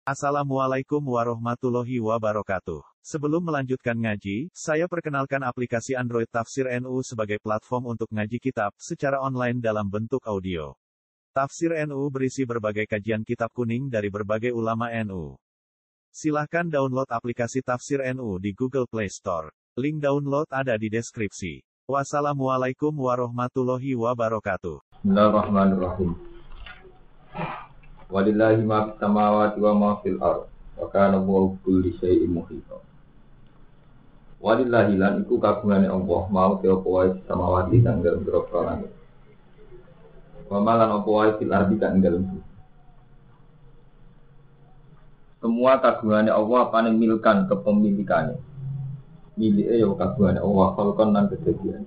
Assalamualaikum warahmatullahi wabarakatuh. Sebelum melanjutkan ngaji, saya perkenalkan aplikasi Android Tafsir NU sebagai platform untuk ngaji kitab secara online dalam bentuk audio. Tafsir NU berisi berbagai kajian kitab kuning dari berbagai ulama NU. Silahkan download aplikasi Tafsir NU di Google Play Store. Link download ada di deskripsi. Wassalamualaikum warahmatullahi wabarakatuh. Bismillahirrahmanirrahim. Walillahi ma fis samawati wa ma fil ardh wa kana Allahu kulli syai'in muhita. Walillahi lan iku kagungane Allah mau te apa wae samawati kang dalem grogro langit. Wa malan apa wae fil ardh kang dalem bumi. Semua kagungane Allah apane milkan kepemilikane. Milike ya kagungane Allah khalqan lan kedadian.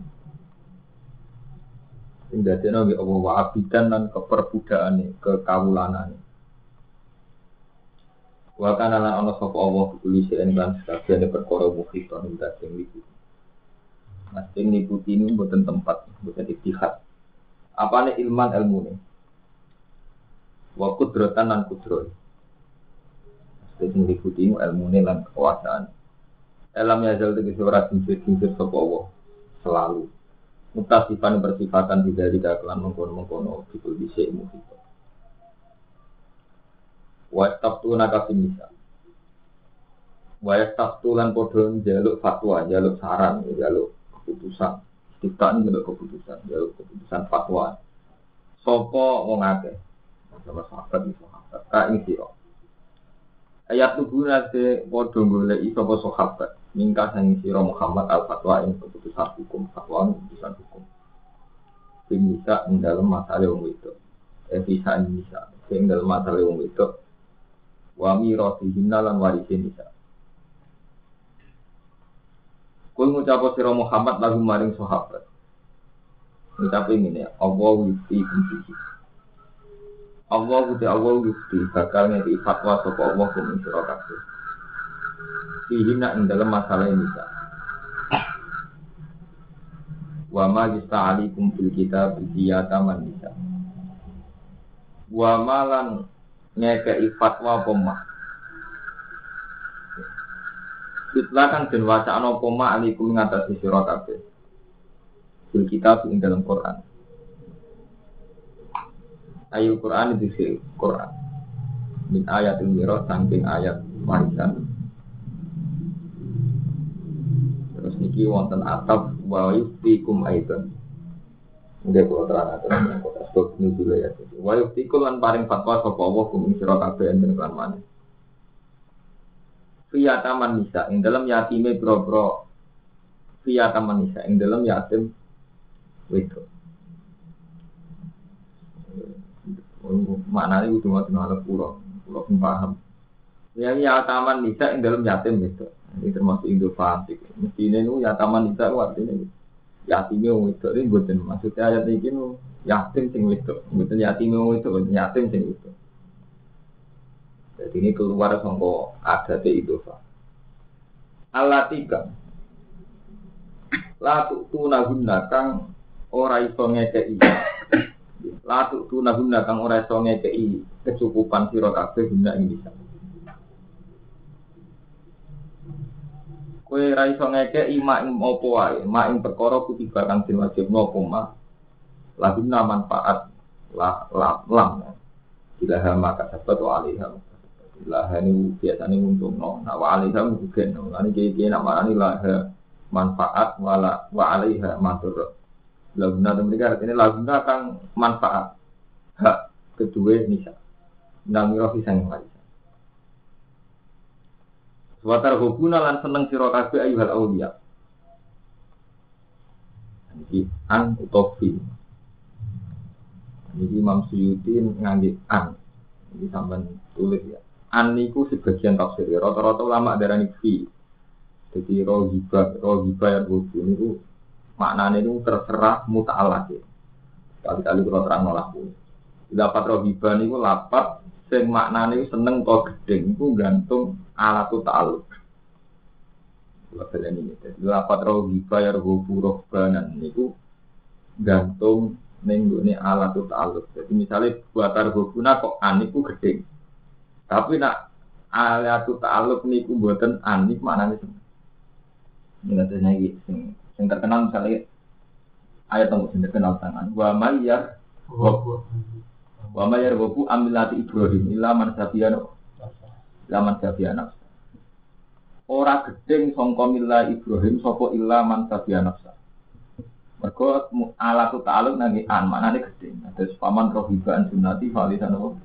Sing dadekno nggih Allah wa abidan lan keperbudakane, kekawulanane. Wa kana lan ana sapa Allah kuli sing lan sakjane perkara mukhita ing sing lipu. Mas sing liputi niku mboten tempat, mboten ittihad. Apane ilman ilmune. Wa qudratan lan kudroh. Sing liputi ilmune lan kekuasaan. Alam yazal tegese ora sing sapa Allah selalu. Mutasifan bersifatan tidak kelan mengkono-mengkono fikul bisa muhito. Wastaftu nakafin nisa. Wastaftu lan podo jaluk fatwa, jaluk saran, jaluk keputusan. Kita ini jaluk keputusan, jaluk keputusan fatwa. Sopo wong akeh. Sama sahabat iki sahabat. Ka ing sira. Ayat tuguna te podo goleki sapa sahabat. Mingka sang sira Muhammad al-fatwa ing keputusan hukum fatwa keputusan hukum. Bisa ing dalam masalah wong wedok. Bisa ing dalam masalah wong wedok. Wa mirasihin lan warisin nisa. Kul ngucap sira Muhammad lagu maring sahabat. Ngucap ngene ya, Allah yuti kunci. Allah yuti bakal ngeki fatwa sapa Allah ing sira kabeh. Sihina ing dalam masalah ini wa ma yasta'alikum fil kitab biyata man bisa wa malan ngekei fatwa pemah ditlakan den wacana pemah alikum ngatasi sira kabeh fil kitab ing dalam Quran ayat Quran itu Quran min ayatul miraj saking ayat warisan. Terus niki wonten ataf wa yuftikum aidan. Nggih kula terang-terang kok sebab niki ya. Wa yuftikum lan paring fatwa sapa Allah kum sira kabeh enten lan maneh. Fiya taman nisa ing dalem yatime bro-bro. Fiya taman nisa ing dalem yatim wedok. Maknane kudu ngoten ala kula paham. Ya taman nisa ing dalem yatim wedok. Ini termasuk Indo fasik. Mestinya itu ya taman nisa artinya yatimnya wong wedok ini bukan maksudnya ayat ini nu yatim sing wedok, bukan yatimnya wong wedok, yatim sing wedok. Jadi ini keluar sangko adat itu fa. Alatika. Latu tunaguna kang ora iso ngekei. Latu tunaguna kang ora iso ngekei kecukupan sira kabeh guna ing bisa. Kowe ra iso ngekeki mak ing apa wae, mak ing perkara kutiba kang den wajibno apa mak. Laguna manfaat lam. Ilaha maka sabat wa alaiha. Ilaha ini biasane untungno, nah wa alaiha mungkin. Lan iki namane ilaha manfaat wa alaiha matur. Laguna mereka artinya laguna kang manfaat. Hak kedua nisa. Namira pisang wae. Watar hubuna lan seneng sira kabeh ayyuhal auliya. Iki an utofi. Iki Imam Suyuti ngangge an. Iki sampean tulis ya. An niku sebagian tafsir. Rata-rata ulama darani fi. Jadi rohibah ya rubu niku maknane niku terserah muta'alaq. Kali-kali kula terang laku. Lapat rohibah niku lapat sing maknane seneng to gedeng iku gantung alatu ta'alluq. Lapan ini, lapat rohibah ya rubu rohbanan niku gantung nenggone alatu ta'alluq. Jadi misalnya buat rohbuna kok aniku gedeng. Tapi nak Alatu ta'alluq niku mboten anik maknane seneng. Ini iki sing terkenal misalnya ayat yang sing terkenal sangan. Wa mayyar wabu amilati Ibrahim illa man sabiana. Ora gedeng sangka milah Ibrahim sapa illa man sabiana. Mergo alatu ta'alluq nang an maknane gedeng. Terus paman rohibaan sunnati falisan apa?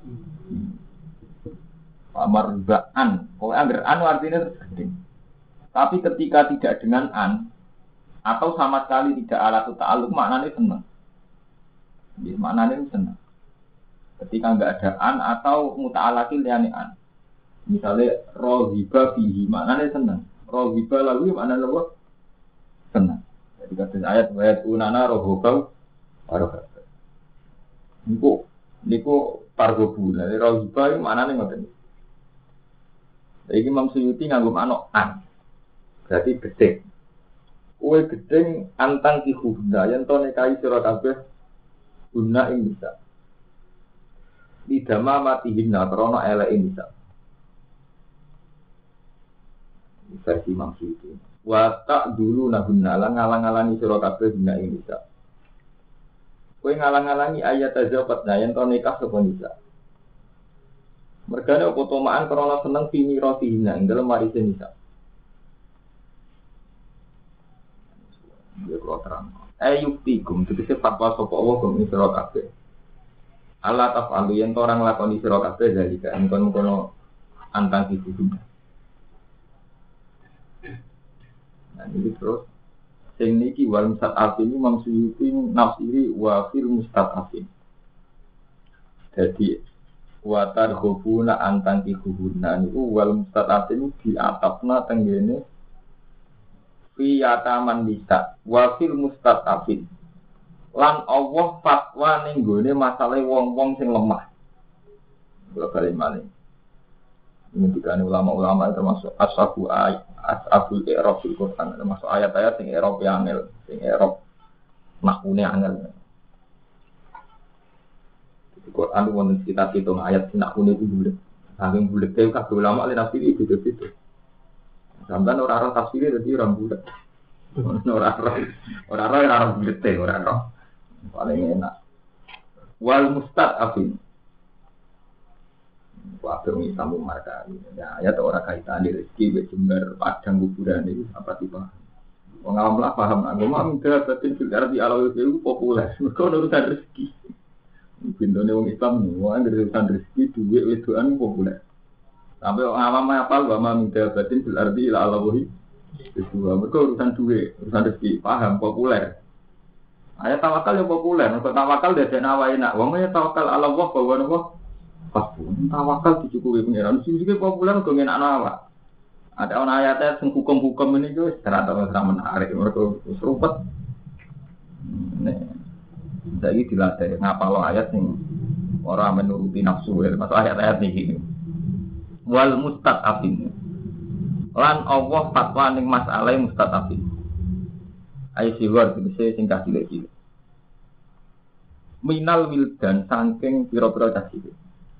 Pamarbaan. Kalau anggar an artinya tergedeng. Tapi ketika tidak dengan an atau sama sekali tidak alatu ta'alluq maknanya senang. Jadi maknanya senang. Ketika enggak ada an atau muta'alaqil yani an. Misalnya rohiba fihi maknanya senang. Rohiba lalu maknanya apa? Senang. Jadi kata ayat wa'at unana rohobau warohab. Niku pargobu. Jadi rohiba itu maknanya ngoten. Jadi Imam Suyuti nganggo manuk an. Berarti gedeng. Kue gedeng antang ki hubna yen to nikahi sira kabeh guna ing bisa. Lidama matihinna krana eleke bisa. Versi Imam Suyuti. Wa tak dulu nahunna lan ngalang-alangi sira kabeh guna ing bisa. Kue ngalang-alangi ayat azabat yen to nikah sapa bisa. Mergane apa tomaan krana seneng pini rotihina ing dalem warise nisa. Ya kula terang. Ayuktikum tegese fatwa sapa Allah gum sira kabeh. Allah tafalu yen orang lakoni sira kabeh dalika engkon kono antang iki. Nah iki terus sing niki wal mustadafin Imam Suyuti nafsiri wa fil mustadafin. Jadi watar khubuna antang kikuhuna niku wal mustatatin di atapna tenggene fi yataman bisa wa fil mustatafin lan Allah fatwa ning gone masalah wong-wong sing lemah. Kula bali malih. Ini dikane ulama-ulama termasuk ashabul i'rab fil Quran termasuk ayat-ayat sing i'rab angel, sing i'rab makune angel. Quran itu wonten sekitar 7 ayat nak kuning itu bulat. Saking bulat itu kabeh ulama li tafsir itu beda-beda. Sampeyan ora ora tafsir dadi ora bulat. Ora bulat ora. Paling enak. Wal mustadafin. Wae wong sambung marka. Ya ayat ora kaitan rezeki jembar padang kuburan itu apa tipe. Wong awam lah paham agama minta batin fil ardi ala itu populer. Mergo urusan rezeki. Bintone wong Islam nih, wong urusan rezeki duit wedoan populer. Sampai orang awam apal bahwa minta batin fil ardi ila Allahi. Itu mereka urusan duit, urusan rezeki, paham populer. Ayat tawakal yang populer, mereka tawakal dari nawai nak. Wongnya tawakal ala Allah bahwa nama pas pun tawakal dicukupi pengiran. Sisi populer kau ngenak nawa. Ada orang ayatnya yang hukum-hukum ini tuh ternyata menarik. Mereka serupet. Jadi dilatih ngapalo ayat nih orang menuruti nafsu masuk ayat-ayat nih wal mustadafin lan Allah fatwa ning masalah mustadafin ayo siwar bisa singkat cilik-cilik minal wildan saking pira-pira cah cilik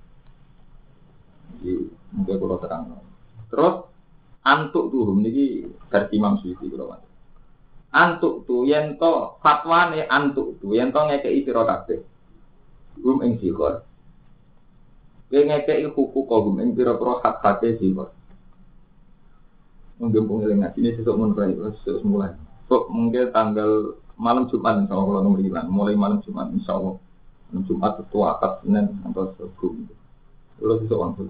iki mungkin kula terang terus antuk tuhum niki versi Imam Suyuti kula antuk tu yen to fatwane antuk tu yen to ngekeki sira kabeh gum ing sikor yen ngekeki hukuk gum ing pira-pira hak-hake sikor mungkin pengelingan ini sesuk mun bae sesuk mulai kok mungkin tanggal malam Jumat insyaallah nomor 9 mulai malam Jumat insyaallah malam Jumat itu akad Senin atau Sabtu lho sesuk wangsul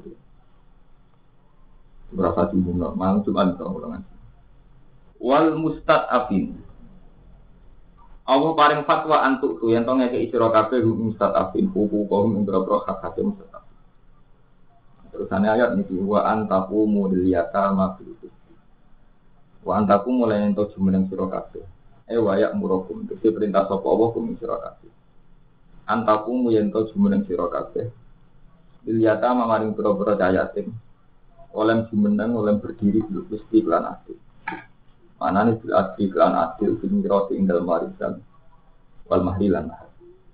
berapa jumlah malam Jumat insyaallah wal mustadafin Allah paring fatwa antuk tu yen to ngekeki sira kabeh mustadafin hukum ing boro hak-hak mustadafin. Terusane ayat niki wa antaqumu liyata mafil. Wa antaqumu lan ento jumeneng sira kabeh. Wa ya'murukum dadi perintah sapa Allah kum sira kabeh. Antaqumu yen to jumeneng sira kabeh. Liyata mamaring boro-boro yatim. Oleh jumeneng oleh berdiri wis lan adil. Manane bil adil lan adil sing ngroti ing dalem warisan wal mahlilan.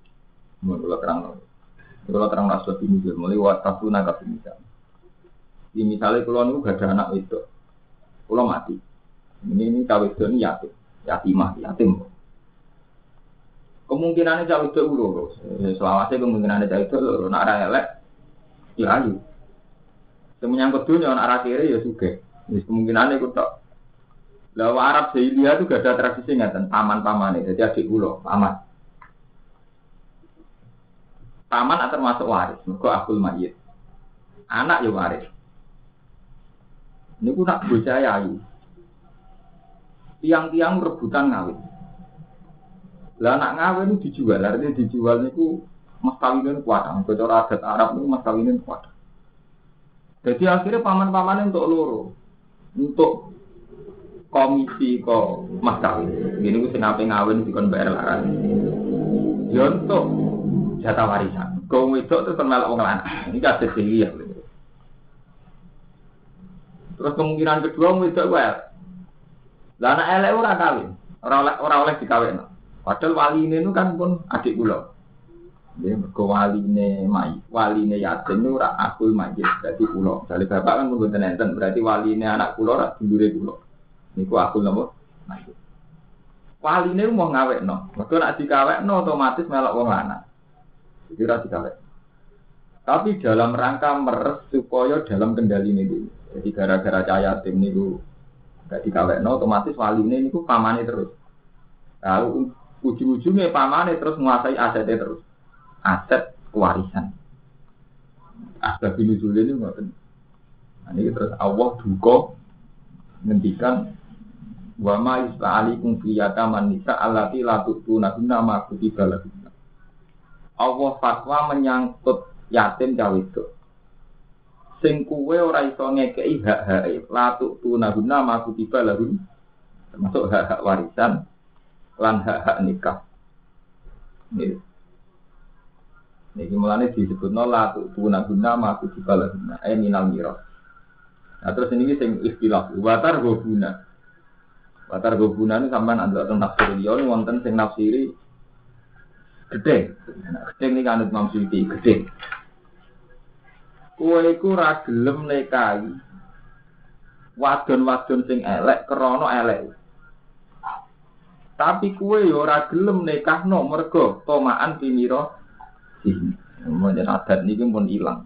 Mun kula terang asal ini mulai waktu naga bisa. Misalnya kula niku gak ada anak wedok. Kula mati. Ini cawe wedok ini yatim. Yatim. Kemungkinannya cawe wedok loro. Selawase kemungkinannya cawe wedok loro. Nek ora elek ya ayu. Menyangkut dunia nek ora kere ya sugih. Wis kemungkinane iku tok. Lah Arab Jahiliyah itu gak ada tradisi ngaten, paman-pamane. Jadi adik kula, paman. Paman termasuk waris, mergo akul mayit. Anak ya waris. Niku nak bocah ayu. Tiang-tiang rebutan ngawin. Lah anak ngawin itu dijual, artinya dijual niku mas kawinin kuat. Cara adat Arab niku mas kawinin kuat. Jadi akhirnya paman-pamannya untuk loro. Untuk komisi kok mas kawin. Gini ku sing ape ngawin dikon bayar laran. Ya untuk jatah warisan. Kau wedok terus melok wong lanang. Ini kasus ya. Terus kemungkinan kedua wedok wae. Lah anak elek ora kawin. Ora oleh dikawin. Padahal waline itu kan pun adik kula. Nggih, mergo waline yatim niku ora akul mayit dadi kula. Dadi bapak kan mboten enten, berarti waline anak kula ora dulure kula. Niku akul napa? Mayit. Waline mau ngawekno. Mergo nek dikawekno otomatis melok wong lanang. Jadi ora dikawek. Tapi dalam rangka meres supaya dalam kendali niku. Jadi gara-gara cahaya tim niku gak dikawekno otomatis waline niku pamane terus. Lalu ujung-ujungnya pamane terus menguasai asetnya terus. Aset warisan. Asbab nuzul ini ngoten. Ini terus Allah duka ngendikan wa ma yus'alikum fi yataman nisa allati la tu'tunahunna ma kutiba lahunna. Allah fatwa menyangkut yatim cawe wedok. Sing kuwe ora iso ngekeki hak-hake la tu'tunahunna ma kutiba lahun. Termasuk hak-hak warisan lan hak-hak nikah. Niki mulane disebutno la tu'tunahunna ma kutiba lahunna minal miras. Nah terus ini sing istilah watar gobuna. Watar gobuna ini sampean antuk teng tafsir liya wonten sing nafsiri gedhe. Gedhe niki anut Imam Suyuti gedhe. Kowe iku ra gelem nikahi wadon-wadon sing elek krana elek. Tapi kowe yo ora gelem nikahno mergo tomaan pinira sih. Menjen adat niki pun ilang.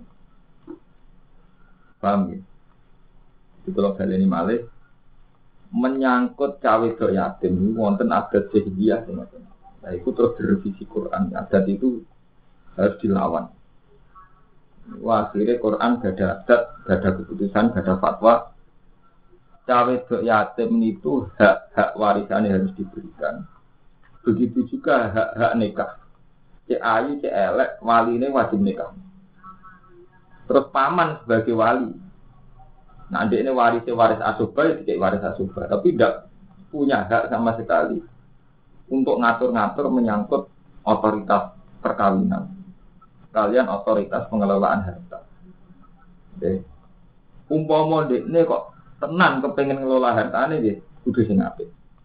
Paham ya? Itu kalau baleni malih menyangkut cawe wedok yatim wonten adat jahiliyah semacam. Nah, itu terus direvisi Quran. Adat itu harus dilawan. Wah, akhirnya Quran gak ada adat, gak ada keputusan, gak ada fatwa. Cawe wedok yatim itu hak warisannya harus diberikan. Begitu juga hak nikah. Cek ayu, cek elek, waline wajib nikah. Terus paman sebagai wali. Nah, ini waris asubah, tidak waris asubah, tapi tidak punya hak sama sekali untuk ngatur-ngatur menyangkut otoritas perkawinan. Kalian otoritas pengelolaan harta. Oke. Umpama ini kok tenan kepengen ngelola hartane nggih, kudu sing apik.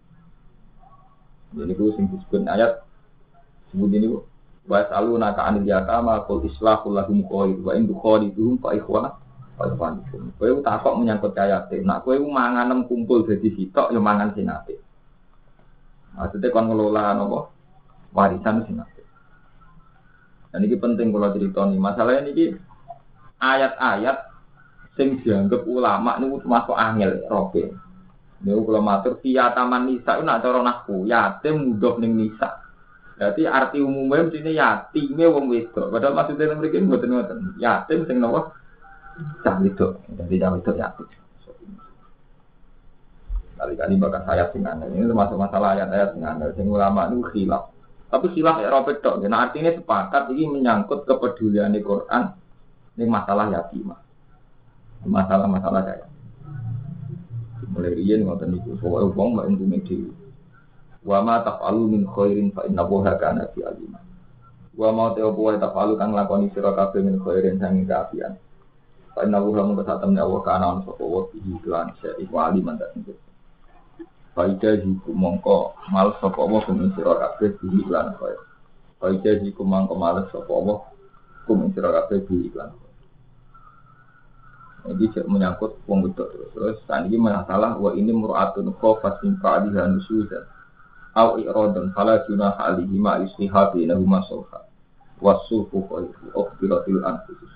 Jadi ku sing disebut ayat sebut ini ku wa saluna ka anil yatama qul islahul lahum khair wa in dukhaliduhum fa ikhwana. Kowe takok menyangkut yatim. Nak kowe mangan kumpul dadi sitok ya mangan sing apik. Maksudnya kon ngelola napa? Warisan sing apik. Dan ini penting kula critani. Masalahnya niki ayat-ayat sing dianggap ulama niku termasuk angel robe. Niku kula matur taman nisa nak cara nahwu yatim mudhof ning nisa. Berarti arti umumnya mestine yatime wong wedok. Padahal maksudnya mriki mboten ngoten. Yatim sing napa? Cah itu, jadi cah itu ya. Kali-kali bakal saya singan. Ini termasuk masalah ayat-ayat singan. Sing ulama itu khilaf. Tapi khilaf ya robek tok. Nah artinya sepakat ini menyangkut kepedulian di Quran. Ini masalah yatimah. Masalah-masalah saya. Mulai riyen ngoten niku. Soale wong mek untunge dhewe. Wa ma taf'alu min khairin fa innahu kana fi alim. Wa ma taf'alu kang lakoni sira kabeh min khairin sang kaafian. Karena Allah mengatakan Allah kanan sopo iklan iku aliman tak singkir. Faida jiku mongko mal sopo Allah kuminsiro kabeh iklan kaya. Faida jiku mongko mal sopo Allah kuminsiro kabeh iklan kaya. Ini menyangkut wong wedok terus tadi masalah wa ini mur'atun khafat min fa'liha nusyuzan au iradan fala junaha alihi ma istihabi lahu masulha wasufu khairu ukhbiratil anfusus.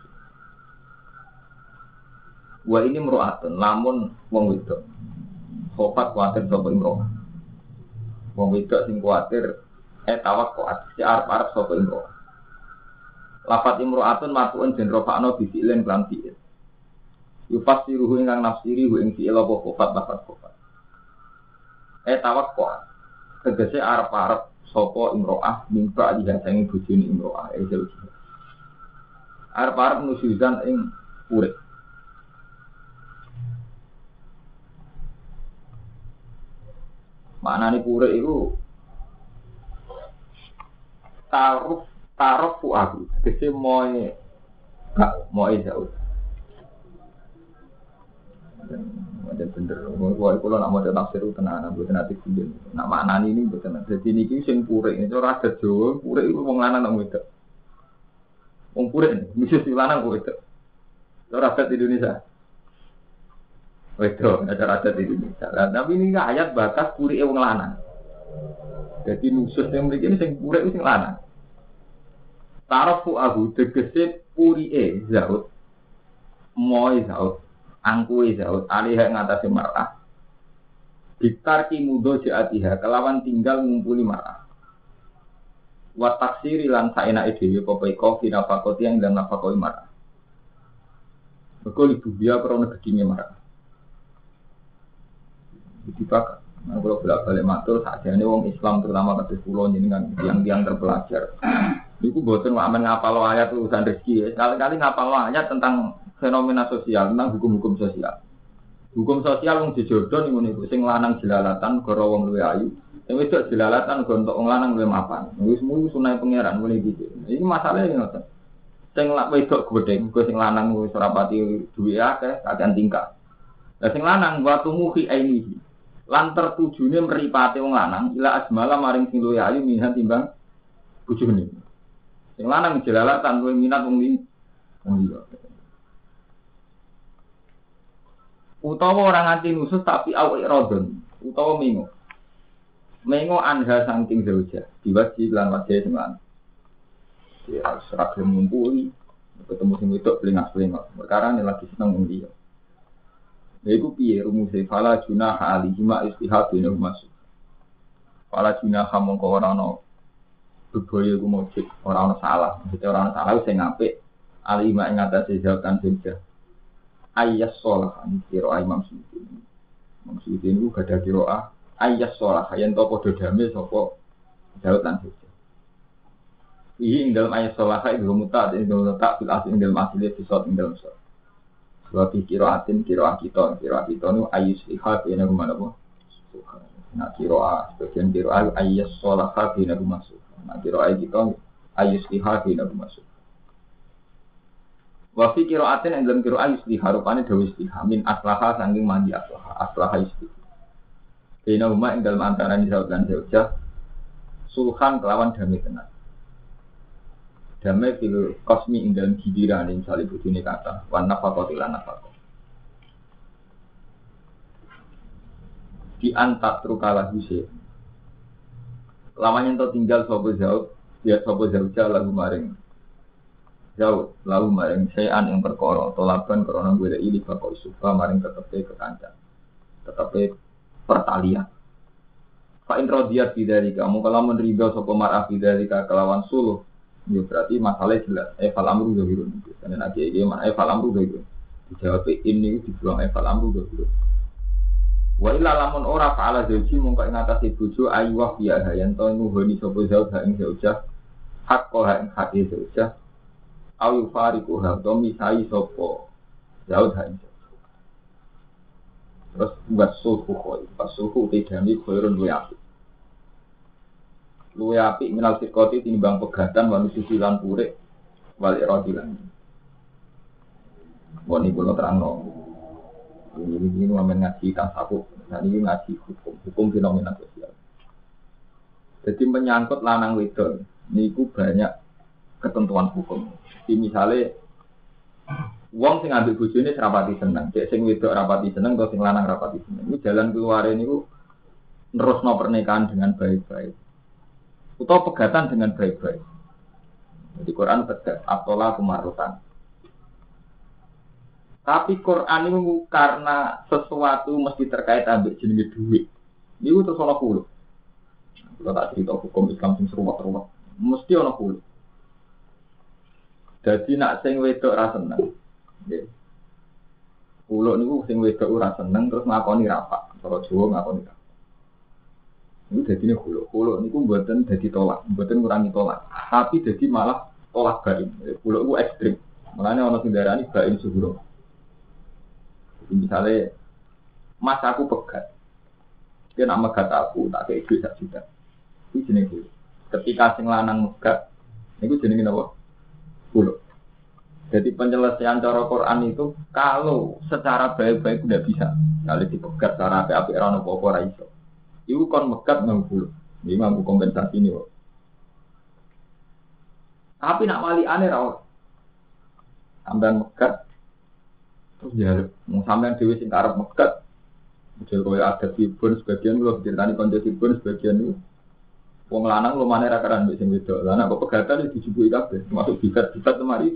Wa ini mur'atun lamun wong wedok khafat kuatir sapa imroh. Wong wedok sing kuatir tawakkut si arep-arep sapa imroh. Lafat imro'atun matuun den rofa'no bifi'len lan fi'il. Yufasiruhu ingkang nafsiri hu ing fi'il apa khofat lafat khofat. Tawakkut tegese arep-arep sapa imro'ah mimba dihasangi bojone imro'ah jauh. Arep-arep nusyuzan ing urip. Maknane urip iku Taruh aku, kese moe jauh. Macam bener, kalau nak mau tafsir itu tenan, bukan nanti kuliah. Nak maknani ini bukan. Jadi ini sing purek, itu rada Jawa, purek itu wong lanang nang wedok. Wong purek, mesti si lanang kok wedok. Itu rada di Indonesia. Wedok, ada rada di Indonesia. Tapi ini ayat bakas purek wong lanang. Jadi nusus yang memiliki ini sing purek itu sing lanang. Taruh aku tegese puri zaud, moy zaud, angkui zaud, alih ngatasi marah. Ditarki mudo jaatiha kelawan tinggal ngumpuli marah. Wat taksiri lan saenake dhewe pokoke kofi nafakoti yang dalam nafakoi marah. Mergo ibu dia krana gedine marah. Ditipak, kalau bolak-balik matur sakjane wong Islam terutama kados kula jenengan yang terpelajar. Iku boten amen ngapal ayat urusan rezeki. Sekali-kali ngapal ayat tentang fenomena sosial, tentang hukum-hukum sosial. Hukum sosial wong dijodoh niku niku sing lanang jelalatan gara wong luwih ayu. Sing wedok jelalatan gara entuk wong lanang luwih mapan. Wis mung sunah pangeran mulai gitu. Iki masalahe ngoten. Sing wedok gedhe, mergo sing lanang wis ora pati duwe akeh, kakean tingkah. Lah sing lanang watu muhi ainihi. Lan tertujune mripate wong lanang ila asmala maring sing luwih ayu minhan timbang bojone. Sing lanang jelalatan luwih minat wong liya. Utawa orang nganti nusus tapi awake rodon, utawa mengo. Mengo anha saking zauja, diwaji lan wajah sing lanang. Ya seragam ngumpuli, ketemu sing wedok pelingas-pelingas. Perkara ne lagi seneng wong liya. Lha iku piye rumuse fala junaha alihi ma istihab bin masuk. Fala junaha mongko ora ana bebaya ku mujud, ora ana salah. Mesti ora ana salah sing apik alihi ma ing atase jawatan zauja. Ayas sholah ini kiroah Imam Suyuti. Imam Suyuti ini gak ada kiroah ayas sholah yang tau podo damai sopo Daud lan Hujjah. Ini dalam ayas sholah itu mutat, ini dalam letak fil asli dalam asli episode dalam sholah. Sebab kiroah kita ini ayus lihat ini rumah apa? Nah kiroah sebagian kiroah ayas sholah ini rumah suha. Nah kiroah kita ayus lihat ini rumah suha. Wa fi qira'atin ing dalam qira'ah istiha rupane dawa istiha min aslaha saking mandi aslaha istiha. Dene umat ing dalam antarané Daud lan Zaujah sulhan kelawan damai tenan. Damai fil qasmi ing dalam giliran ing salib bojone kata wan nafaqati lan nafaqah. Di antat trukala huse. Lawan ento tinggal sapa Zaud, ya sapa Zaujah lagu maring Daud lalu maring sayan yang perkara tolaban karena gue ili bakal suka maring tetepe kekancan tetepe pertalian. Fa in radiyat bidari kamu kalau menerima sapa marah bidari kelawan suluh ya berarti masalah jelas fal amru zahirun karena nanti iki mana fal amru zahirun dijawab ini dibuang fal amru zahirun wa illa lamun ora fa'ala zauji mongko ing atase bojo ayu wa ya yen to nuhoni sapa zauj ing zaujah hak ko ing hak zaujah ayu fariku ha to misai sapa Daud ha. Terus buat suhu koi, pas suhu tidami koirun luwe api minal sikoti tinimbang pegatan manusia silan purek wal iradilan. Wani kulo terangno. Ini ngamen ngaji tasawuf, nah ini ngaji hukum fenomena sosial. Jadi menyangkut lanang wedok, niku banyak ketentuan hukum. Jadi misalnya Wong sing ambek bojone serapati seneng, cek sing wedok rapati seneng atau sing lanang rapati seneng. Iku jalan keluare niku nerusno pernikahan dengan baik-baik. Utawa pegatan dengan baik-baik. Jadi Quran tegas atola kemarutan. Tapi Quran itu karena sesuatu mesti terkait ambek jenenge duit. Niku terus ana kulo. Kalau tak cerita hukum Islam sing seruwat-ruwat, mesti ana kulo. Jadi nak sing wedok ra seneng. Nggih. Kulo niku sing wedok ora seneng terus ngakoni rapak. Cara Jawa ngakoni rapak. Ini dadine kulo. Kulo niku mboten dadi tolak, mboten ngurangi tolak, tapi dadi malah tolak bain. Kulo iku ekstrem. Mulane ana sing darani bain suhuro. Misalnya, mas aku pegat, dia nak megat aku, tak kayak duit 1 juta. Itu jenis kulo. Ketika sing lanang megat, itu jenis apa? Kulo. Jadi penyelesaian cara Quran itu kalau secara baik-baik udah bisa. Kalau dipegat secara apa-apa rano popo raiso. Itu kon megat nang kulo. Ini mampu kompensasi ini kok. Tapi nak wali aneh rawat. Sampean megat terus ya, mau sampean dhewe sing karep megat. Model koyo ada sibun sebagian kula diceritani kanca sibun sebagian itu. Wong lanang lumane ra karan mbek sing wedok. Lah nek kok pegatan dijupuki kabeh, termasuk bikat-bikat lemari.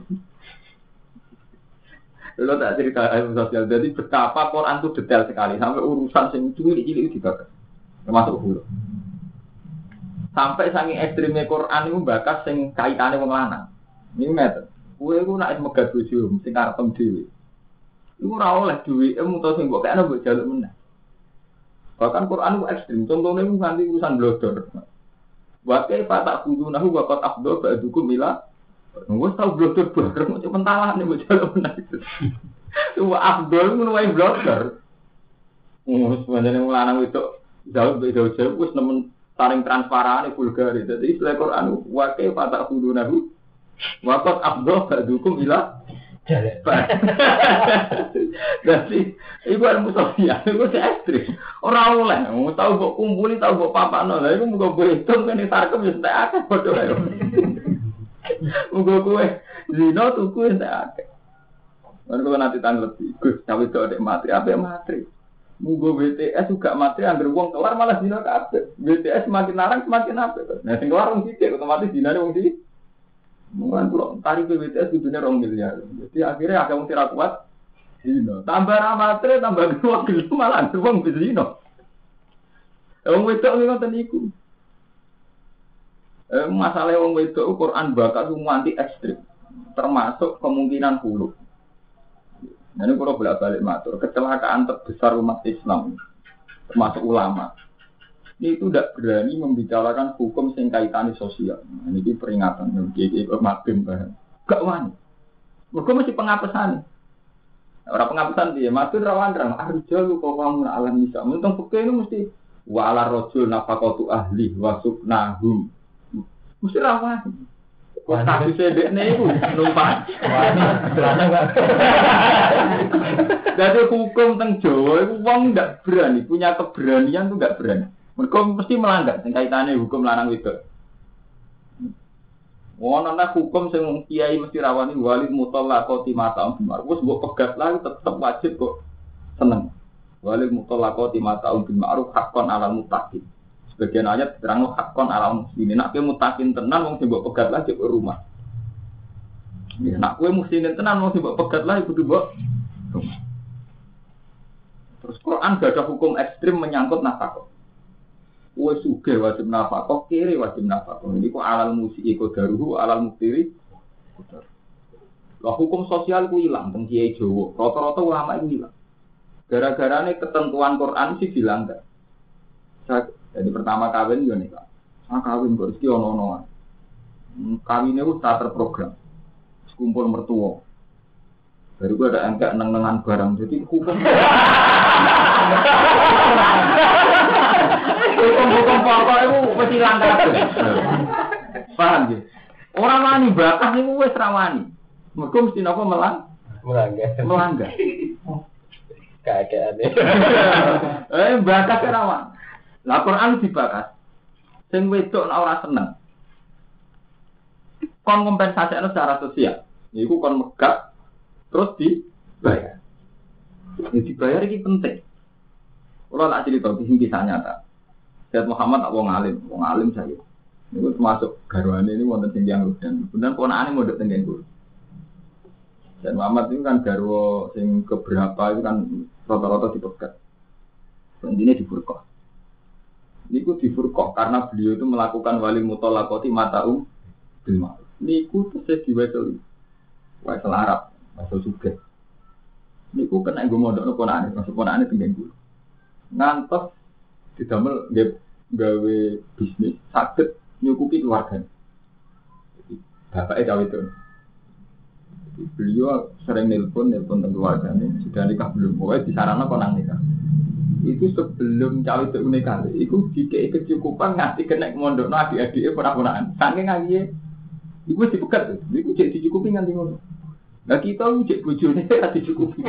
Lha tak cerita ilmu sosial. Jadi betapa Quran itu detail sekali sampai urusan sing cilik-cilik dibahas. Termasuk hulu. Sampai saking ekstremnya Quran itu bakas sing kaitane wong lanang. Niku ngeten. Kowe iku nek megat bojo sing karepem dhewe. Iku ora oleh duwike mutu sing mbok kene mbok jaluk meneh. Bahkan Quran itu ekstrem. Contohnya itu nganti urusan blodor. Wakai patak kudunahu wakat afdol ba'dukum mila. Wes tau blodor bareng cuma pentalah nih mbok jaluk meneh. Wa afdol menuai blodor. Sebenarnya lanang itu jauh-jauh wis nemen saling transparan vulgar. Jadi istilah Quran wakai patak kudunahu wakat afdol ba'dukum mila. Jadi ibu ilmu sosial itu ekstrim. Orang oleh, tahu buat kumpuli, tahu buat papano. Lah, ibu muka berhitung kan ditarkem ya tidak akeh bodoh ya. Muka kue zino tuh kue tidak akeh. Kalau nanti tanggal lebih, gus cawe itu ada materi, apa materi? Muka BTS juga materi, anggar uang keluar malah zino kabeh. BTS semakin larang semakin apa? Nah, sing keluar orang sidik, otomatis zino ada orang sidik. Mungkin kalau tarik BTS itu dunia 2 miliar. Jadi akhirnya agak mesti kuat. Zino. Tambah ramatri, tambah uang gitu malah uang bezino. Uang wedok ini kan iku. Masalah uang wedok Quran bakat semua anti ekstrim. Termasuk kemungkinan hulu. Nah, ini kalau bolak-balik matur, kecelakaan terbesar umat Islam, termasuk ulama. Ini itu tidak berani membicarakan hukum sing kaitane sosial. Nah, ini peringatan bagi mabim kan. Gak wani. Mergo mesti pengapesan. Ora pengapesan dia, maksud rawan-rawan arjal kok kamu alam bisa. Untung peke itu mesti wa ala rajul nafaqatu ahli wa suknahum. Mesti rawan. Kok tak bisa dekne iku numpak. Jadi hukum teng Jawa itu wong ndak berani, punya keberanian tuh ndak berani. Mereka mesti melanggar sing kaitane hukum lanang wedok. Ana hukum sing kiai mesti rawani walid mutallaqati mata'un bimar. Wes mbok pegat lah tetep wajib kok seneng. Walid mutallaqati mata'un bimar hakon alal muttaqin. Sebagian ayat terang hakon alal muslimin. Nek kowe muttaqin tenan wong sing mbok pegat lah jek rumah. Ya nek kowe muslimin tenan wong sing mbok pegat lah kudu mbok rumah. Terus Quran gak ada hukum ekstrim menyangkut nafkah. Wes sugih wajib nafkah, kiri wajib nafkah. Ini kok alal musyi qadaruhu, alal muftiri. Lah hukum sosial ku ilang teng kiai Jawa. Rata-rata ulama itu ilang. Gara-garane ketentuan Quran sih dilanggar. Jadi pertama kawin yo nika. Kawin kok iki ono-onoan. Kawine ku tak terprogram. Kumpul mertua. Baru gua ada angka neng-nengan barang. Jadi hukum hukum pokok itu mesti langgar. Paham ya? Orang wani bakas itu wis rawani. Mergo mesti napa melanggar. Keadaane. Bakas rawan. Lah Quran dibakas. Sing wedok nek ora seneng. Kon kompensasi secara sosial. Iku kon megat terus dibayar. Ya dibayar ini penting. Kalau tak cerita di sini kisah nyata. Sayyid Muhammad tak wong alim saya. Ini termasuk garwane ini wonten sing yang dan kemudian ponakane mondok teng Guru. Dan Muhammad itu kan garwa sing keberapa itu kan rata-rata dipegat. Intinya di furqah. Niku di furqah karena beliau itu melakukan wali mutolakoti mataum bil ma'ruf. Niku terus diwasil. Wasal Arab, wasal Sugih. Niku kena nggo mondokno ponakane, masuk ponakane teng Guru. Ngantos didamel gawe bisnis saged nyukupi keluarga. Bapaknya cawe itu. Beliau sering nelpon tentang keluarganya. Sudah nikah belum? Pokoknya disarankan konang nikah. Itu sebelum cawe itu nikah. Itu dikei kecukupan ngasih kena mondok adik-adiknya pernah-pernah. Saking ngajinya, itu dipegat. Itu cek dicukupi nganti ngono. Nah kita cek bujurnya tidak dicukupi.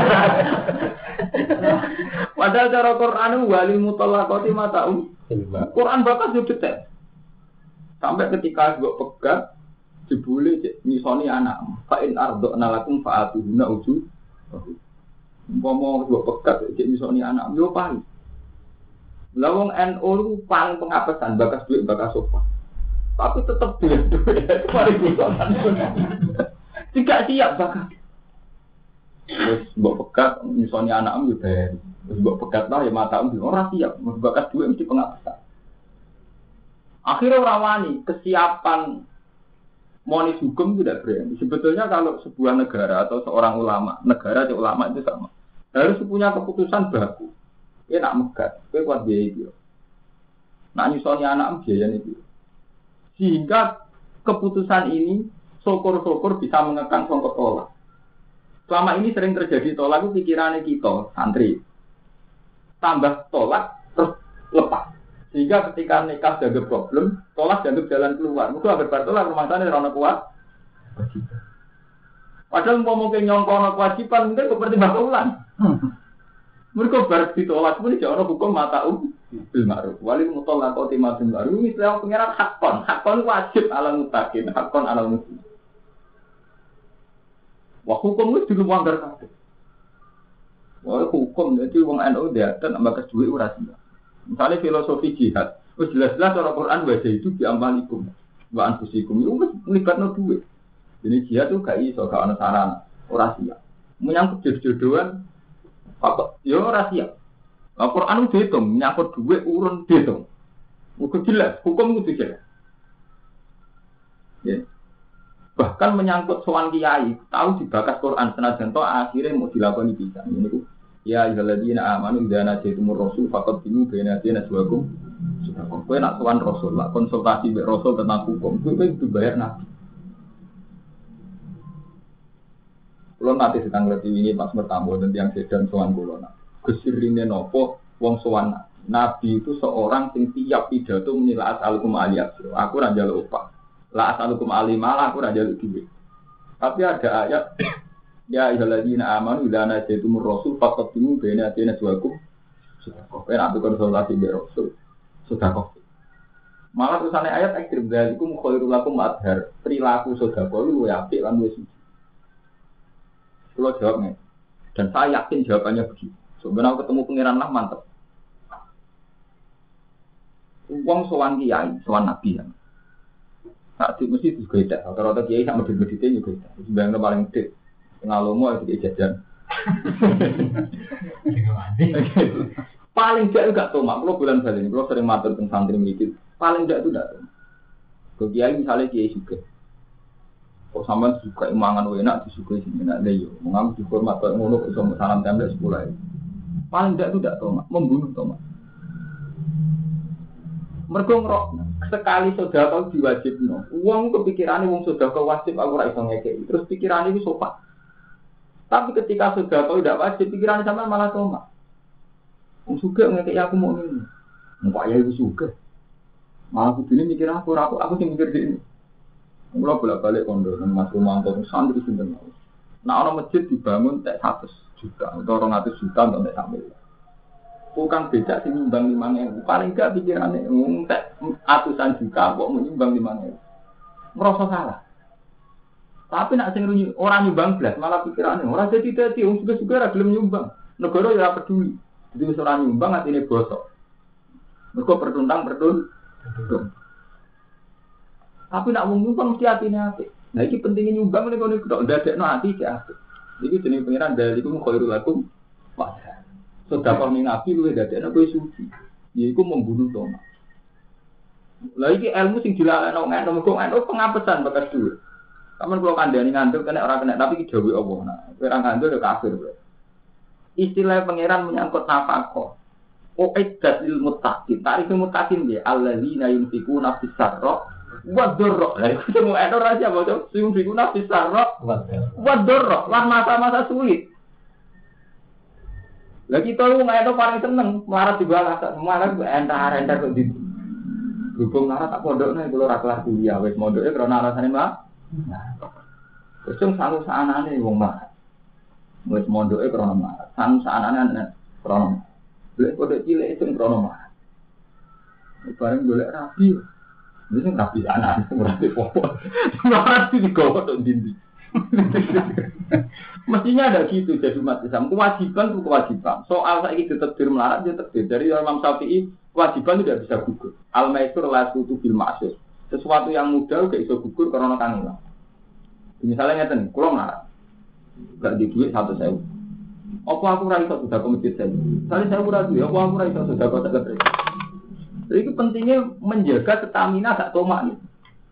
Padahal cara Quran wali mutolakoti mataum. Quran bakas yo detail. Sampai ketika gue pegat, jebule nyisoni anak. Fa'in ardokna lakum fa'atuhuna uju. Ngomong gue pegat, nyisoni anak. Yo paling. Lawang NU itu paling pengapesan, bakas duit, bakas sofa. Tapi tetap duit. Itu paling bukan. Tidak siap bakas. Terus gue pegat, nyisoni anak yo bayar. Terus gue pegat lah, ya mata orang siap. Bakas duit mesti pengapesan. Akhirnya orang wani kesiapan monis hukum tidak berani. Sebetulnya kalau sebuah negara atau seorang ulama, negara atau ulama itu sama. Harus punya keputusan baku. Dia nak megat, dia kuat biaya itu. Nak nyusoni anak biaya itu. Sehingga keputusan ini syukur-syukur bisa mengekang songkok tolak. Selama ini sering terjadi tolak itu pikirannya kita, santri. Tambah tolak terus lepas. Sehingga ketika nikah ada problem, tolak dianggap jalan keluar. Mungkin agar bertolak rumah tangga orang kuat. Padahal mau mungkin nyongkong kewajiban, mungkin seperti bakulan. Mereka baru ditolak pun tidak orang hukum mata bil ma'ruf. Wali mutolakoti ma'ruf bil ma'ruf. Ini istilah pengiran hakon wajib ala mutakin, hakon ala muslim. Wah hukum itu dulu melanggar kabeh. Wah hukum jadi wong NU dia dan ambak duit urasi. Misalnya filosofi jihad, jelas-jelas orang Quran baca itu diamalikum, wa anfusikum itu melibatkan duit. Jadi jihad itu gak iso, gak ada sarana, orang siap. Menyangkut jodoh-jodohan, apa? Ya orang siap. Al-Quran itu dihitung, menyangkut duit urun dihitung. Itu jelas, hukum itu jelas. Ya. Bahkan menyangkut soal kiai, tahu dibakas Quran senajan toh akhirnya mau dilakukan bisa. Ini itu. Ya ayyuhalladzina amanu idza najaytumur rasul faqaddimu baina yadayhi najwakum. Sudah kowe nak sowan rasul, nak konsultasi mbek rasul tentang hukum, kowe kudu bayar nabi. Kulo nanti sedang ngerti ini pas bertamu dan yang sedan sowan kulo nak. Kesirine nopo wong sowan nabi itu seorang sing tiap pidato menilai as'alukum aliyah. Aku ora njaluk upah. La as'alukum alimala aku ora njaluk duit. Tapi ada ayat ya ayyuhalladzina amanu idza najaytumur rasul faqaddimu baina yadayhi najwakum. Sudah kok nek konsultasi mbek rasul. Sudah kok. Malah tulisane ayat ekstrem dzalikum khairul lakum adhar. Perilaku sedekah lu apik lan wis. Kulo jawabnya. Dan saya yakin jawabannya begitu. Sebenarnya ketemu pangeran lah mantep. Wong sowan kiai, sowan nabi kan. Saat itu mesti juga tidak. Rata-rata kiai sama medit-meditnya juga tidak. Sebenarnya paling gede. Ngalomo itu jajan. Paling tidak juga tomak. Kalau bulan balik ini, kalau sering matur tentang santri mikir, paling tidak itu tidak tomak. Kalau kiai misalnya kiai juga. Kok sampean suka imangan enak disukai sini nak leyo. Mengambil dihormat kalau ngono iso salam tembak 10 ae. Paling tidak itu tidak tomak, membunuh tomak. Mergo ngrok sekali sedekah diwajibno. Wong kepikirane wong sedekah wajib aku ora iso ngekeki. Terus pikirane iki sopan. Tapi ketika sudah tahu tidak wajib, pikiran sama malah tomak. Suka ngekei aku mau ini. Muka ya itu suka. Malah aku ini mikir aku sih mikir ini. Mulai bolak-balik kondo, Mas Romanto, santri sinten. Nah orang masjid dibangun tak 100 juta, atau 200 juta untuk tak sambil. Bukan beda sih nyumbang 5.000. Paling gak pikirannya, tak ratusan juta kok menyumbang 5.000. Merasa salah. Tapi nak sing ora nyumbang blas malah pikirane ora dadi wong suka-suka ora gelem nyumbang. Negara ya ora peduli. Jadi wis ora nyumbang atine bosok. Mergo pertuntang. Tapi nak wong nyumbang mesti atine apik. Nah iki pentingnya nyumbang nek ngono kok ndadekno ati iki apik. Iki jenenge pengiran dalikum khairul lakum. Padahal sedekah ning nabi luwih ndadekno kowe suci. Yaiku membunuh tomat. Lah iki ilmu sing dilalekno ngene pengapesan bekas dhuwit. Kamen kula kandhani ngandel kena ora kena tapi iki dawuh Allah. Nah, kowe ora ngandel ya kafir. Istilah pangeran menyangkut nafkah. Uiddat lil muttaqin. Tarif muttaqin dia alladzina yunfikuna fis sarra wa dharra. Lah iku sing ora rahasia bocah, yunfikuna fis sarra wa dharra. Lah masa-masa sulit. Lah kita lu ngene paling seneng melarat dibalas semua entar kok di hubung melarat tak pondokne kula ora kelar kuliah wis mondoke krana rasane mah. Nah, kecung sanu saanane wong mah. Wis mondoke krana mah. Sanu saanane krana. Lek kode cilik sing krana mah. Bareng golek rabi. Wis rabi anane ora apa. Ora digowo tok ndi. Mestinya ada gitu jadi umat Islam. Kewajiban itu kewajiban. Soal saiki ditakdir melarat dia takdir. Dari Imam Syafi'i kewajiban tidak bisa gugur. Al-maisur la tutu bil ma'sur. Sesuatu yang mudah gak iso gugur karena kangen. Misalnya ngeten, kula melarat. Gak di duit 100.000. Apa aku ora iso sedekah masjid saya? Saya ora duwe, apa aku ora iso sedekah sak geprek. Jadi itu pentingnya menjaga stamina gak tomak nih.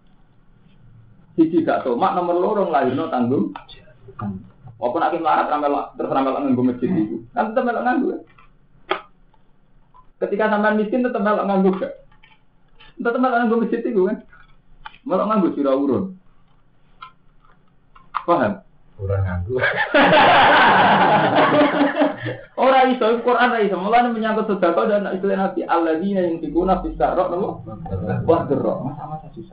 Siji gak tomak nomor loro lahirno tanggung. Apa nak melarat terus ramal nganggo masjid itu. Kan tetep melok nganggo. Ketika sampean miskin tetep melok nganggo gak? Tetep melok nganggo masjid itu kan. Melok nganggo sira urun. Paham? Kurang nganggo. Ora iso Quran ra iso. Mulane menyangkut sedekah dan istilah Nabi alladzina yunfikuna fis sarra wa dharra. Masa-masa susah.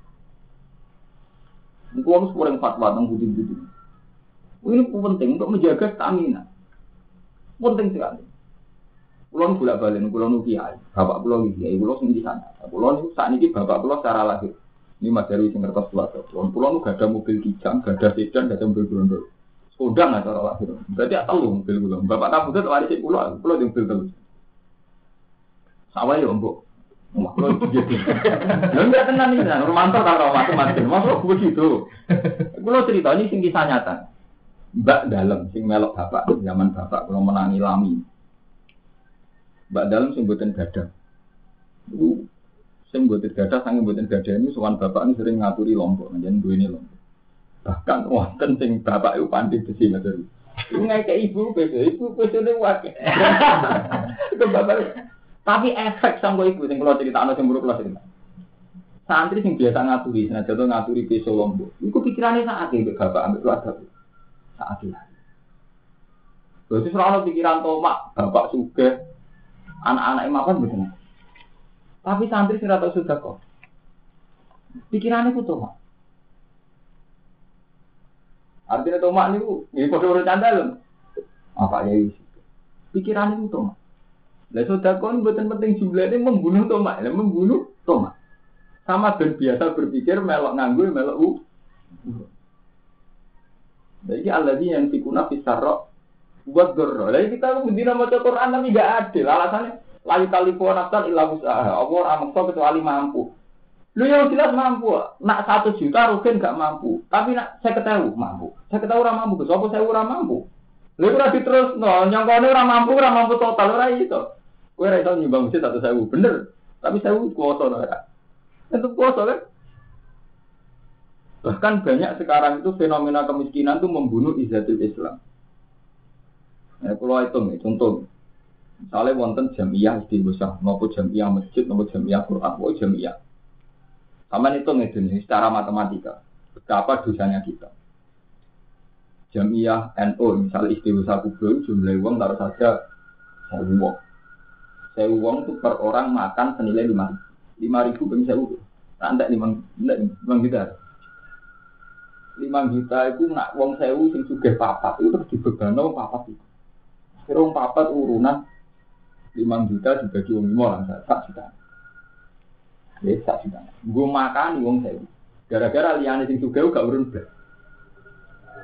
Iku harus kurang fatwa tentang budi-budi. Ini penting untuk menjaga stamina. Penting sekali. Pulau bolak balik, pulau kiai, bapak pulau kiai, pulau sendiri sana. Pulau saat ini bapak pulau secara lahir. Ini Mas Darwi sing ngertos pulau. Pulau gak ada mobil kijang, gak ada sedan, gak ada mobil berondol. Kodang nggak cara lahir. Berarti tahu mobil pulau. Bapak kamu tuh waris pulau yang mobil terus. Sawah ya ombok. Pulau jadi. Enggak tenang ini, Romanto kalau macam-macam. Masuk begitu. Pulau ceritanya sing kisah nyata. Mbak dalam sing melok bapak zaman bapak kalau menangi lami. Mbak dalam sing mboten gadah. Sing mboten gadah sange mboten gadah ini sowan bapak ini sering ngaturi lombok, njen duwene lombok. Bahkan wonten sing bapak itu pandai besi matur. Iku ngeke ibu besone wae. Itu bapak. Tapi efek sanggo ibu sing kula critakno sing buruk kula cerita. Santri sing biasa ngaturi, senajan ngaturi beso lombok. Iku pikirane sak akeh bapak ambek keluarga. Saat ini. Berarti selalu pikiran tomak, bapak sugih, anak-anak makan betul. Tapi santri sing rata sudah kok. Pikirannya itu tomak. Artinya tomak niku nggih padha ora candal. Apa ya iki? Pikirannya itu tomak. Lah sedekah kon mboten penting jumlahnya membunuh tomak, membunuh tomak. Sama dan biasa berpikir melok nganggo melok jadi alladzina yanfikuna fis sarra wa dharra. Lah kita mendina maca Quran tapi enggak adil. Alasannya la yukallifu nafsan illa wus'aha. Apa ora maksa kecuali mampu. Lu yang jelas mampu. Nak 1 juta rugen enggak mampu. Tapi nak 50.000 mampu. 50.000 ora mampu. Sopo 1.000 ora mampu. Lha ora diterusno, nyangkone ora mampu total ora iso. Kowe ora iso nyumbang masjid 1.000 bener. Tapi 1.000 kuwasa ora. Itu kuwasa kan? Bahkan banyak sekarang itu fenomena kemiskinan itu membunuh izzatul Islam. Kalau hitung contoh, misalnya wonten jamiah istighosah, maupun jamiah masjid, maupun jamiah Quran, maupun jamiah. Sama itu ngedun secara matematika, berapa dosanya kita. Jamiah NU, misalnya istighosah kubur, jumlah uang taruh saja 1.000 uang. 1.000 uang itu per orang makan senilai 5.000 per 1.000. Nanti 5 juta. 5 juta itu nak wong 1.000 sing sugih papat itu terus dibebano papat itu. Kira wong papat urunan 5 juta dibagi wong 5 lah sak juta. Ya sak juta. Nggo makan wong 1.000. Gara-gara liyane sing sugih gak urun blas.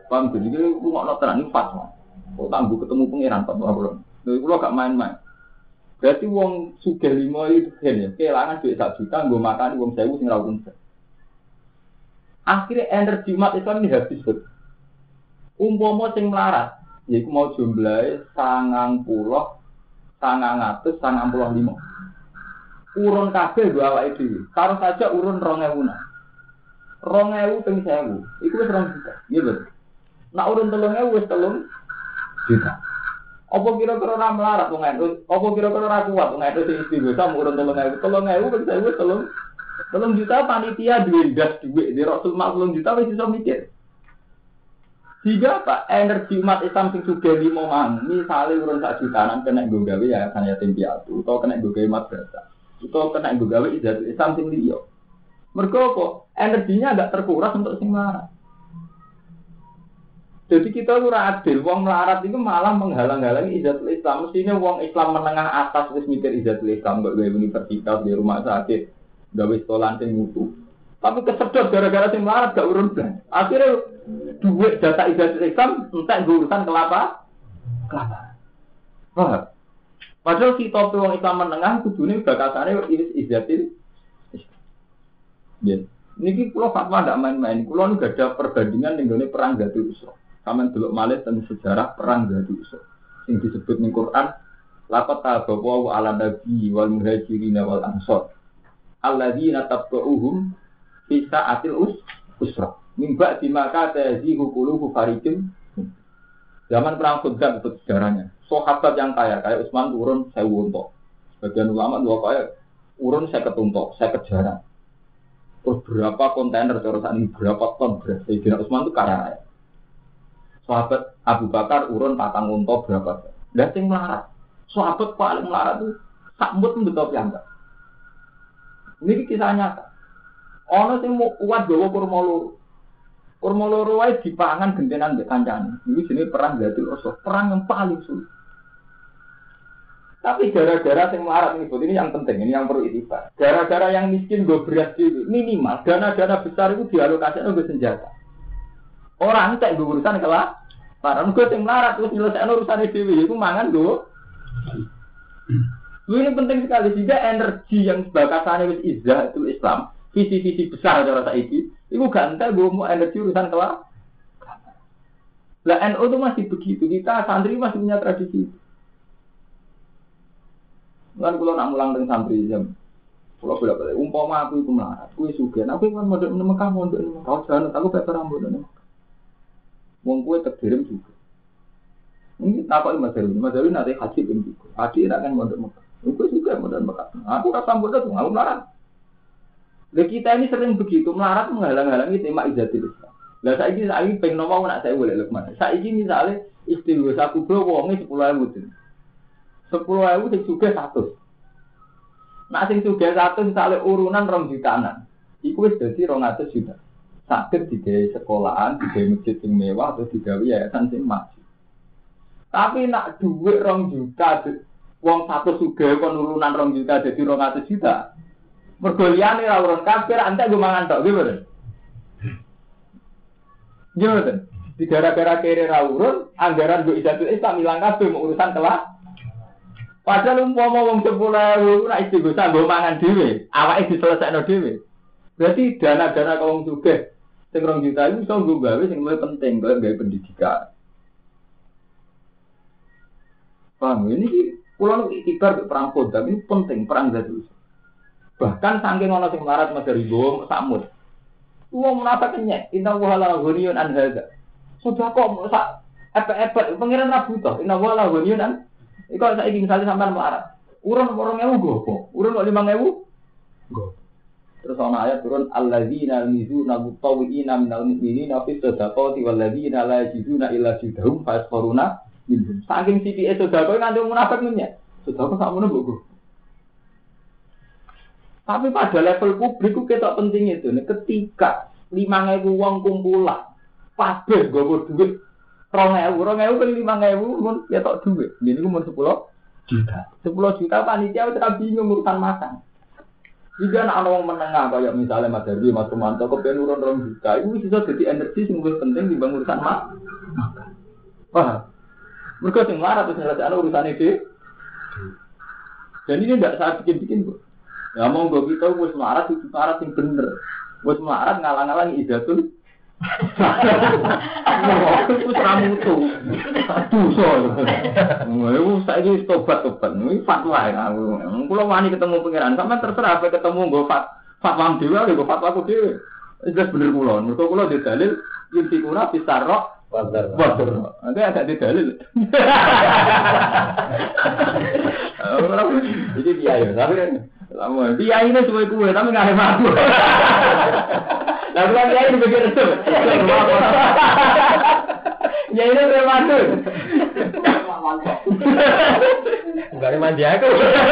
Paham jadi ku ngono tenan iki fatwa. Kok tangguh ketemu pangeran fatwa kula. Lha kula gak main-main. Berarti wong sugih 5 itu ya, kelangan duit 1 juta nggo makani wong 1000 sing ra urun. Akhirnya energi umat Islam ini habis. Umpama sing melarat, yaiku mau jumlahe 995. Urun kabeh nggo awake dhewe. Karo saja urun 2000. 2000 ping 1000. Iku wis 2 juta. Iya betul. Nak urun 3000 wis 3 juta. Apa kira-kira ora melarat wong NU? Apa kira-kira ora kuat wong NU sing istighosah urun 3000. 3000 ping 1000 wis 3 juta panitia duwe gas duwe di Rasul 40 juta wis iso mikir. Jika apa energi umat Islam sing sugih 5 mang, misale urun 1 jutaan kena nggo gawe ya kan yatim piatu utawa kena nggo gawe madrasah. Utawa kena nggo gawe ibadah Islam sing liya. Mergo apa? Energinya agak terkuras untuk sing melarat. Jadi kita ora adil, wong melarat itu malah menghalang-halangi ibadah Islam. Mestinya wong Islam menengah atas wis mikir ibadah Islam, gak gawe universitas di rumah sakit, gawe sekolah sing mutu. Tapi kesedot gara-gara sing melarat gak urun blas. Akhirnya duit data ibadah Islam entek urusan kelapa. Wah. Padahal si topi wong Islam menengah kudune bakasane ibadah. Ya. Niki kula fatwa ndak main-main. Kula nu gak ada perbandingan ning gone perang Gadul Usra. Sampeyan delok malih tentang sejarah perang Gadul Usra. Sing disebut ning Quran, laqad tabawu 'ala nabi wal muhajirin wal ansor. Alladzina tabu'uhum fi sa'atil usra. Min ba'di ma ta'zihu qulubu fariqin. Zaman perang Khudam itu sejarahnya. Sahabat yang kaya kayak Utsman turun 1000 unta. Sebagian ulama dua kaya urun 50 unta, 50 jaran. Terus berapa kontainer terusan ini berapa ton beras? Sayyidina Utsman itu kaya raya. Sahabat Abu Bakar urun 4 unta berapa? Lah sing melarat. Sahabat paling melarat itu sakmut betul piyambak. Ini kisah nyata. Ana sing kuat gawa kurma loro. Kurma loro wae dipangan gentenan mbek kancane. Iki jenenge perang Gadul Usra, perang yang paling sulit. Tapi gara-gara sing melarat ini yang penting, ini yang perlu itibar. Gara-gara yang miskin go beras dhewe, minimal dana-dana besar itu dialokasikan untuk senjata. Orang tak go urusan kelas, para nego sing melarat terus nyelesaikno urusane dhewe iku mangan go. Ini penting sekali sehingga energi yang bakasane wis izah itu Islam, visi-visi besar cara saiki, iku gak entek go energi urusan kelas. Lah NU itu masih begitu, kita santri masih punya tradisi. Kan kula nak mulang teng santri jam. Kula bolak-balik umpama aku iku melarat, kuwi sugih. Aku kan mondok nang Mekah, mondok nang Mekah. Jangan aku peper rambut nang Mekah. Wong kuwi terkirim juga. Ini takoki Mas Darwin nanti haji ping 3. Adik nak kan mondok Mekah. Iku juga mondok Mekah. Aku ora sambut tuh, aku melarat. Lah kita ini sering begitu, melarat menghalang-halangi tema izatul Islam. Lah saiki pengen nomor nak saya boleh Lukman. Saiki misale istighosah kubro wonge 10.000. 10.000 sing sugih 100. Nek sing sugih 100 misale urunan 2 jutaan. Iku wis dadi 200 juta. Saged digawe sekolahan, digawe masjid sing mewah atau digawe yayasan sing maju. Tapi nak dhuwit 2 juta wong 100 sugih kon urunan 2 juta dadi 200 juta. Mergo liyane ra urun kafir antek go mangan tok nggih mboten. Nggih mboten. Di gara-gara kere ra urun, anggaran go idatul Islam ilang kabeh mau urusan kelas. Padahal umpama wong 10.000 ora istighosah nggo mangan dhewe, awake diselesaikno dhewe. Berarti dana-dana wong sugih sing 2 juta iku iso nggo gawe sing luwih penting, kaya gawe pendidikan. Paham ini kula nu ikhtiar perang Khudam ini penting, perang Gadul. Bahkan saking ana sing melarat madari nggo sakmut. Wong menapa kenyek, inna wa la ghaniyun an hadza. Sudah kok sak epek-epek pengiran ra butuh, inna wa la ghaniyun an. Iku saiki misale sampean melarat. Urun 2.000 nggo apa? Urun 5.000 nggo. Terus ana ayat turun alladzina yuzuna mutawwiina minal mu'minina fi sadaqati walladzina la yajiduna illa jidhum fasfaruna minhum. Saking sithike sedekah nganti munafik menyek. Sedekah sakmono mbok. Tapi pada level publik ku ketok penting itu. Ketika 5.000 wong kumpulan, kabeh nggawa duit 2.000 kan 5.000 mun ketok duit. Ini ku mun 10 juta. 10 juta panitia wis bingung urusan makan. Jika anak orang menengah kayak misalnya Mas Darwi, Mas Romanto, kepengen urun juta, itu bisa jadi energi yang lebih penting dibanding urusan makan. Wah, mereka yang marah terus nyelesaikan urusan itu. Dan ini tidak saya bikin-bikin, Bu. Ya mau gue kita bos melarat itu melarat yang bener. Bos melarat ngalang-ngalang idatul. Itu seramu tuh. Aduh soal. Saya ini tobat. Ini fatwa ya. Kalau wani ketemu pangeran, sampai terserah apa ketemu gue fatwa dewa, gue fatwa aku dewa. Jelas bener kulon. Mereka kulon di dalil inti kuna pisarok. Wajar. Nanti ada di dalil. Jadi dia ya, tapi kan. Lama, dia ini semua kue, tapi nggak ada aku. Lalu kan dia ini begitu tuh. Ya ini termasuk. Enggak ada mandi aku.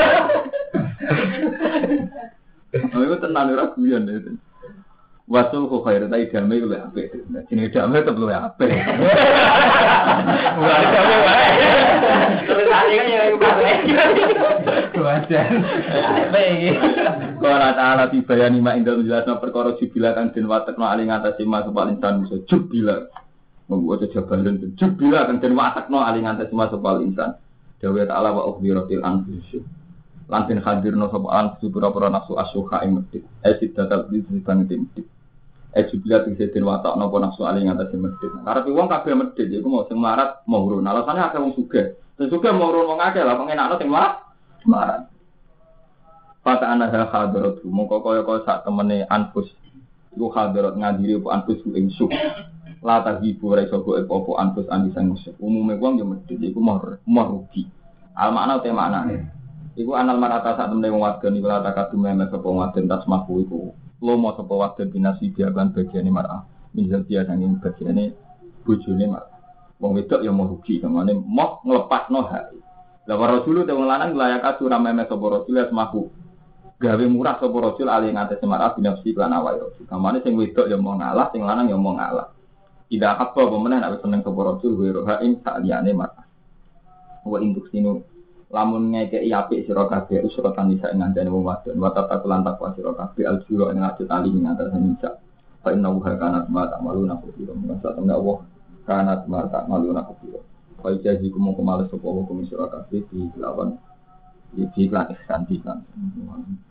Oh itu tenang raguan itu. Wasul kok khair ta idame ku lek apik. Jenenge idame tetep luwih apik. Enggak idame wae. Terus ane kan yang apik. Wajan. Apik. Qala ta'ala bibayani ma indal jelasna perkara jubila kang den watekno ali ngatasi mas paling insan iso jubila. Membuat jabalan jubila kang den watekno ali ngatasi mas paling insan. Dawa ta'ala wa ukhbiratil anfus. Lantin hadirno sapa anfus pura-pura nafsu asyuha ing medhit. Sidatal disebang medhit. Jubilat bisa diwatak nopo nafsu aling atas medit. Karena wong kabeh medit, iku mau sing marat mau urun. Alasannya akeh wong sugih. Sing sugih mau urun wong akeh lah, pengenakno sing marat. Fata ana hadarat, mongko kaya sak temene anfus. Iku hadarat ngadiri apa anfus ing suk. La tahibu ra iso go apa anfus andisan musuh. Umume wong yo medit iku mau rugi. Al makna te maknane. Iku anal marata sak temene wong wadon iku la takadu memes apa wadon tasmaku iku. Lomo sapa wadon binasi biakan bagiane mar'ah. Misal dia sanging bagiane bojone mar'ah. Wong wedok ya mau rugi, kamane mau nglepasno hak. Lah rasul te wong lanang layak atur meme sapa rasul asmaku. Gawe murah sapa rasul ali ngate mar'ah binafsi lan awake rasul. Kamane sing wedok ya mau ngalah, sing lanang ya mau ngalah. Tidak apa pemenang nek seneng sapa rasul wa roha ing sak liyane mar'ah. Wa induk sinu lamun ngekeki apik sira kabeh usra tanisa ing ngandane wong wadon wa tatakulan takwa sira kabeh aljura ing ati tali ing atas nisa fa inna wa kana ma ta'maluna khubira masa temne Allah kana ma ta'maluna khubira fa jazi kumo kemales sapa wa kumis sira kabeh di lawan iki lan ihsan